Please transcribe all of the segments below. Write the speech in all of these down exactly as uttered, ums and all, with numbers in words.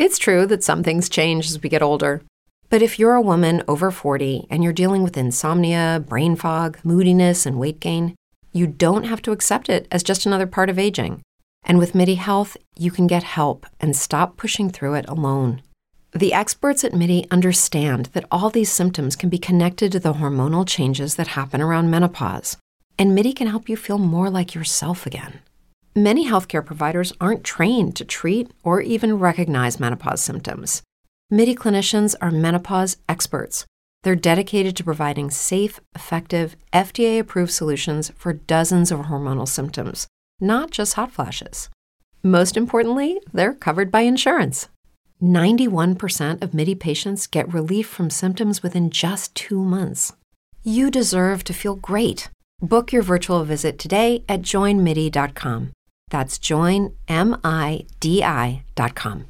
It's true that some things change as we get older. But if you're a woman over forty and you're dealing with insomnia, brain fog, moodiness, and weight gain, you don't have to accept it as just another part of aging. And with MIDI Health, you can get help and stop pushing through it alone. The experts at MIDI understand that all these symptoms can be connected to the hormonal changes that happen around menopause, and MIDI can help you feel more like yourself again. Many healthcare providers aren't trained to treat or even recognize menopause symptoms. MIDI clinicians are menopause experts. They're dedicated to providing safe, effective, F D A-approved solutions for dozens of hormonal symptoms, not just hot flashes. Most importantly, they're covered by insurance. ninety-one percent of MIDI patients get relief from symptoms within just two months. You deserve to feel great. Book your virtual visit today at join midi dot com. That's join midi dot com.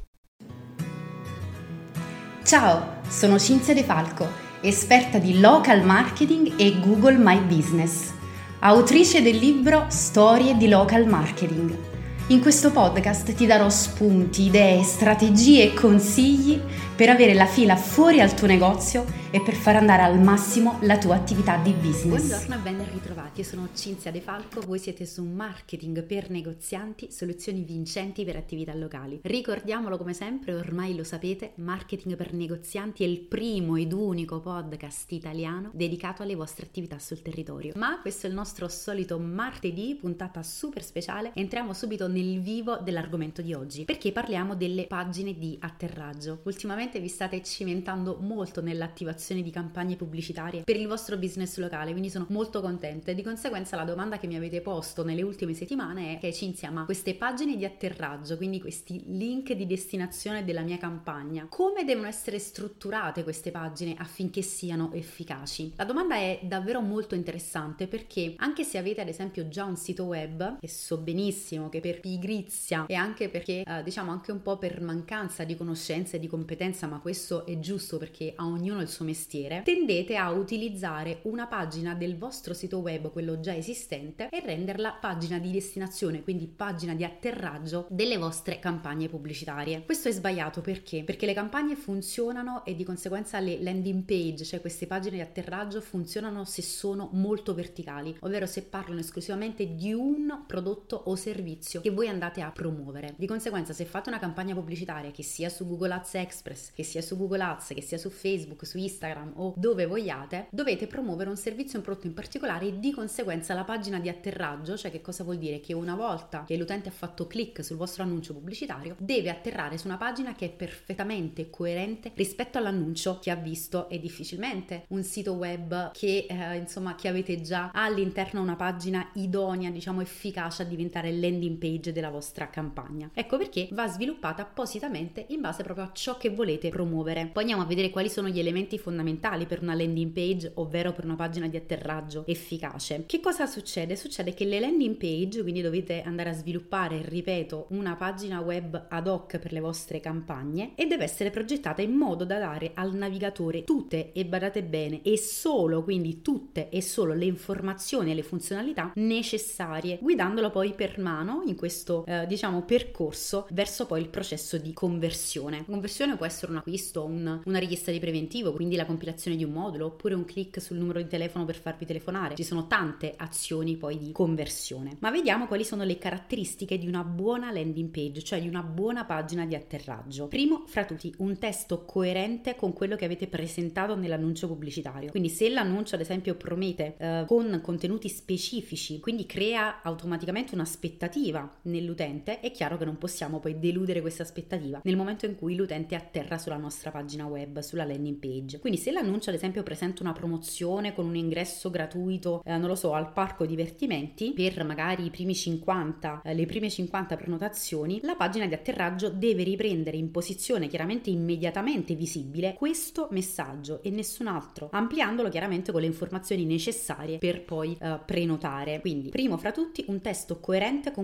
Ciao, sono Cinzia De Falco, esperta di local marketing e Google My Business, autrice del libro Storie di Local Marketing. In questo podcast ti darò spunti, idee, strategie e consigli per avere la fila fuori al tuo negozio e per far andare al massimo la tua attività di business. Buongiorno e ben ritrovati, io sono Cinzia De Falco, voi siete su Marketing per Negozianti, soluzioni vincenti per attività locali. Ricordiamolo come sempre, ormai lo sapete, Marketing per Negozianti è il primo ed unico podcast italiano dedicato alle vostre attività sul territorio. Ma questo è il nostro solito martedì, puntata super speciale, entriamo subito nel vivo dell'argomento di oggi, perché parliamo delle pagine di atterraggio. Ultimamente vi state cimentando molto nell'attivazione di campagne pubblicitarie per il vostro business locale, quindi sono molto contenta e di conseguenza la domanda che mi avete posto nelle ultime settimane è: che Cinzia, ma queste pagine di atterraggio, quindi questi link di destinazione della mia campagna, come devono essere strutturate queste pagine affinché siano efficaci? La domanda è davvero molto interessante, perché anche se avete ad esempio già un sito web, e so benissimo che per pigrizia e anche perché eh, diciamo anche un po' per mancanza di conoscenza e di competenza, ma questo è giusto perché a ognuno il suo mestiere, tendete a utilizzare una pagina del vostro sito web, quello già esistente, e renderla pagina di destinazione, quindi pagina di atterraggio delle vostre campagne pubblicitarie. Questo è sbagliato perché? Perché le campagne funzionano e di conseguenza le landing page, cioè queste pagine di atterraggio, funzionano se sono molto verticali, ovvero se parlano esclusivamente di un prodotto o servizio che voi andate a promuovere. Di conseguenza, se fate una campagna pubblicitaria che sia su Google Ads Express, che sia su Google Ads, che sia su Facebook, su Instagram o dove vogliate, dovete promuovere un servizio, un prodotto in particolare, e di conseguenza la pagina di atterraggio, cioè che cosa vuol dire? Che una volta che l'utente ha fatto click sul vostro annuncio pubblicitario, deve atterrare su una pagina che è perfettamente coerente rispetto all'annuncio che ha visto, e difficilmente un sito web che eh, insomma che avete già ha all'interno una pagina idonea, diciamo efficace a diventare landing page della vostra campagna. Ecco perché va sviluppata appositamente in base proprio a ciò che volete promuovere. Poi andiamo a vedere quali sono gli elementi fondamentali per una landing page, ovvero per una pagina di atterraggio efficace. Che cosa succede? Succede che le landing page, quindi dovete andare a sviluppare, ripeto, una pagina web ad hoc per le vostre campagne, e deve essere progettata in modo da dare al navigatore tutte, e badate bene, e solo, quindi tutte e solo le informazioni e le funzionalità necessarie, guidandolo poi per mano in questo eh, diciamo percorso verso poi il processo di conversione. La conversione può essere un acquisto, un, una richiesta di preventivo, quindi la compilazione di un modulo, oppure un click sul numero di telefono per farvi telefonare. Ci sono tante azioni poi di conversione. Ma vediamo quali sono le caratteristiche di una buona landing page, cioè di una buona pagina di atterraggio. Primo fra tutti, un testo coerente con quello che avete presentato nell'annuncio pubblicitario. Quindi se l'annuncio ad esempio promette eh, con contenuti specifici, quindi crea automaticamente un'aspettativa nell'utente, è chiaro che non possiamo poi deludere questa aspettativa nel momento in cui l'utente atterra sulla nostra pagina web, sulla landing page. Quindi se l'annuncio ad esempio presenta una promozione con un ingresso gratuito, eh, non lo so, al parco divertimenti per magari i primi cinquanta, eh, le prime cinquanta prenotazioni, la pagina di atterraggio deve riprendere in posizione chiaramente immediatamente visibile questo messaggio e nessun altro, ampliandolo chiaramente con le informazioni necessarie per poi eh, prenotare. Quindi primo fra tutti un testo coerente con quello presentato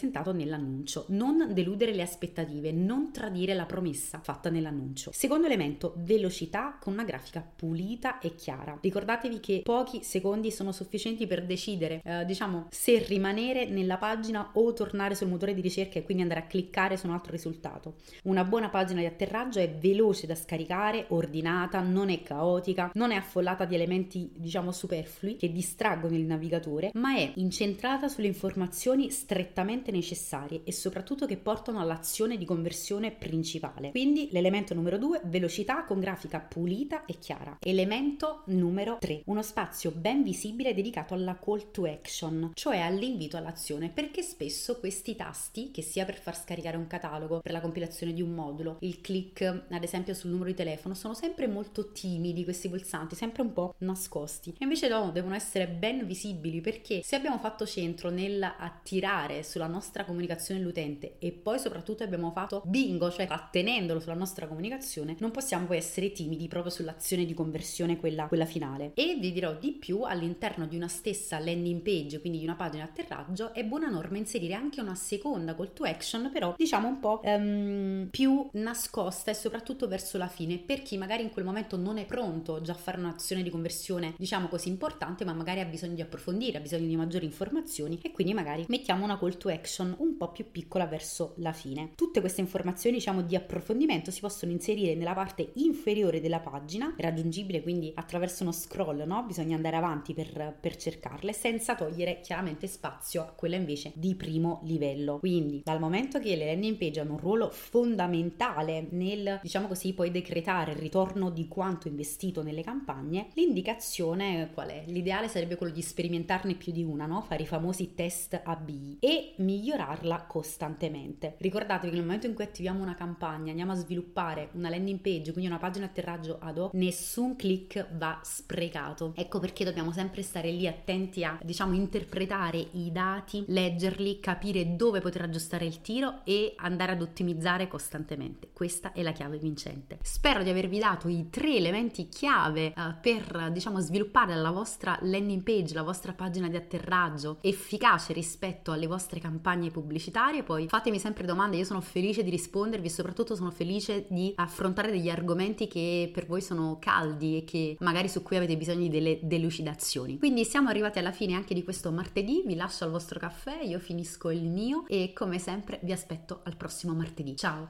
rappresentato nell'annuncio. Non deludere le aspettative, non tradire la promessa fatta nell'annuncio. Secondo elemento, velocità con una grafica pulita e chiara. Ricordatevi che pochi secondi sono sufficienti per decidere, eh, diciamo, se rimanere nella pagina o tornare sul motore di ricerca e quindi andare a cliccare su un altro risultato. Una buona pagina di atterraggio è veloce da scaricare, ordinata, non è caotica, non è affollata di elementi, diciamo, superflui che distraggono il navigatore, ma è incentrata sulle informazioni strettamente necessarie e soprattutto che portano all'azione di conversione principale. Quindi l'elemento numero due, velocità con grafica pulita e chiara. Elemento numero tre, uno spazio ben visibile dedicato alla call to action, cioè all'invito all'azione, perché spesso questi tasti, che sia per far scaricare un catalogo, per la compilazione di un modulo, il click ad esempio sul numero di telefono, sono sempre molto timidi questi pulsanti, sempre un po' nascosti, e invece no, devono essere ben visibili, perché se abbiamo fatto centro nel attirare sulla nostra comunicazione l'utente e poi soprattutto abbiamo fatto bingo, cioè attenendolo sulla nostra comunicazione, non possiamo poi essere timidi proprio sull'azione di conversione, quella, quella finale. E vi dirò di più, all'interno di una stessa landing page, quindi di una pagina di atterraggio, è buona norma inserire anche una seconda call to action, però diciamo un po' um, più nascosta e soprattutto verso la fine, per chi magari in quel momento non è pronto già a fare un'azione di conversione, diciamo così, importante, ma magari ha bisogno di approfondire, ha bisogno di maggiori informazioni, e quindi magari mettiamo una call to action un po' più piccola verso la fine. Tutte queste informazioni, diciamo, di approfondimento si possono inserire nella parte inferiore della pagina, raggiungibile quindi attraverso uno scroll, no? Bisogna andare avanti per, per cercarle, senza togliere chiaramente spazio a quella invece di primo livello. Quindi dal momento che le landing page hanno un ruolo fondamentale nel, diciamo così, poi decretare il ritorno di quanto investito nelle campagne, l'indicazione qual è? L'ideale sarebbe quello di sperimentarne più di una, no? Fare i famosi test A B e migliorarla costantemente. Ricordatevi che nel momento in cui attiviamo una campagna, andiamo a sviluppare una landing page, quindi una pagina atterraggio ad hoc, nessun click va sprecato. Ecco perché dobbiamo sempre stare lì attenti a, diciamo, interpretare i dati, leggerli, capire dove poter aggiustare il tiro e andare ad ottimizzare costantemente. Questa è la chiave vincente. Spero di avervi dato i tre elementi chiave uh, per, diciamo, sviluppare la vostra landing page, la vostra pagina di atterraggio efficace rispetto alle vostre campagne pubblicitarie. Poi fatemi sempre domande, io sono felice di rispondervi e soprattutto sono felice di affrontare degli argomenti che per voi sono caldi e che magari su cui avete bisogno di delle delucidazioni. Quindi siamo arrivati alla fine anche di questo martedì, vi lascio al vostro caffè, io finisco il mio e come sempre vi aspetto al prossimo martedì. Ciao!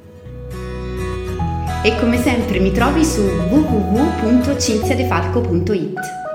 E come sempre mi trovi su w w w punto cinzia de falco punto it.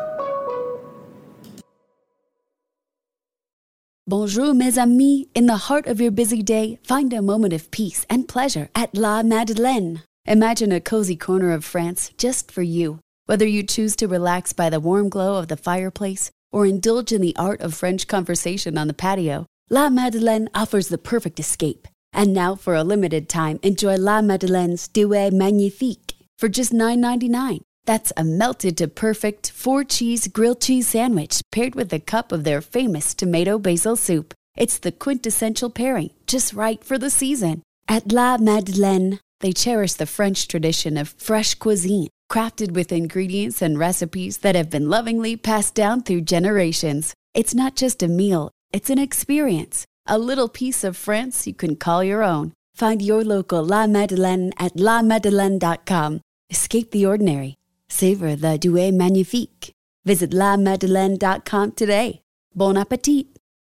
Bonjour mes amis, in the heart of your busy day, find a moment of peace and pleasure at La Madeleine. Imagine a cozy corner of France just for you. Whether you choose to relax by the warm glow of the fireplace or indulge in the art of French conversation on the patio, La Madeleine offers the perfect escape. And now, for a limited time, enjoy La Madeleine's Duet Magnifique for just nine ninety-nine. That's a melted to perfect four-cheese grilled cheese sandwich paired with a cup of their famous tomato basil soup. It's the quintessential pairing, just right for the season. At La Madeleine, they cherish the French tradition of fresh cuisine, crafted with ingredients and recipes that have been lovingly passed down through generations. It's not just a meal, it's an experience. A little piece of France you can call your own. Find your local La Madeleine at la madeleine dot com. Escape the ordinary. Savor the Duet Magnifique. Visit la madeleine dot com today. Bon appétit!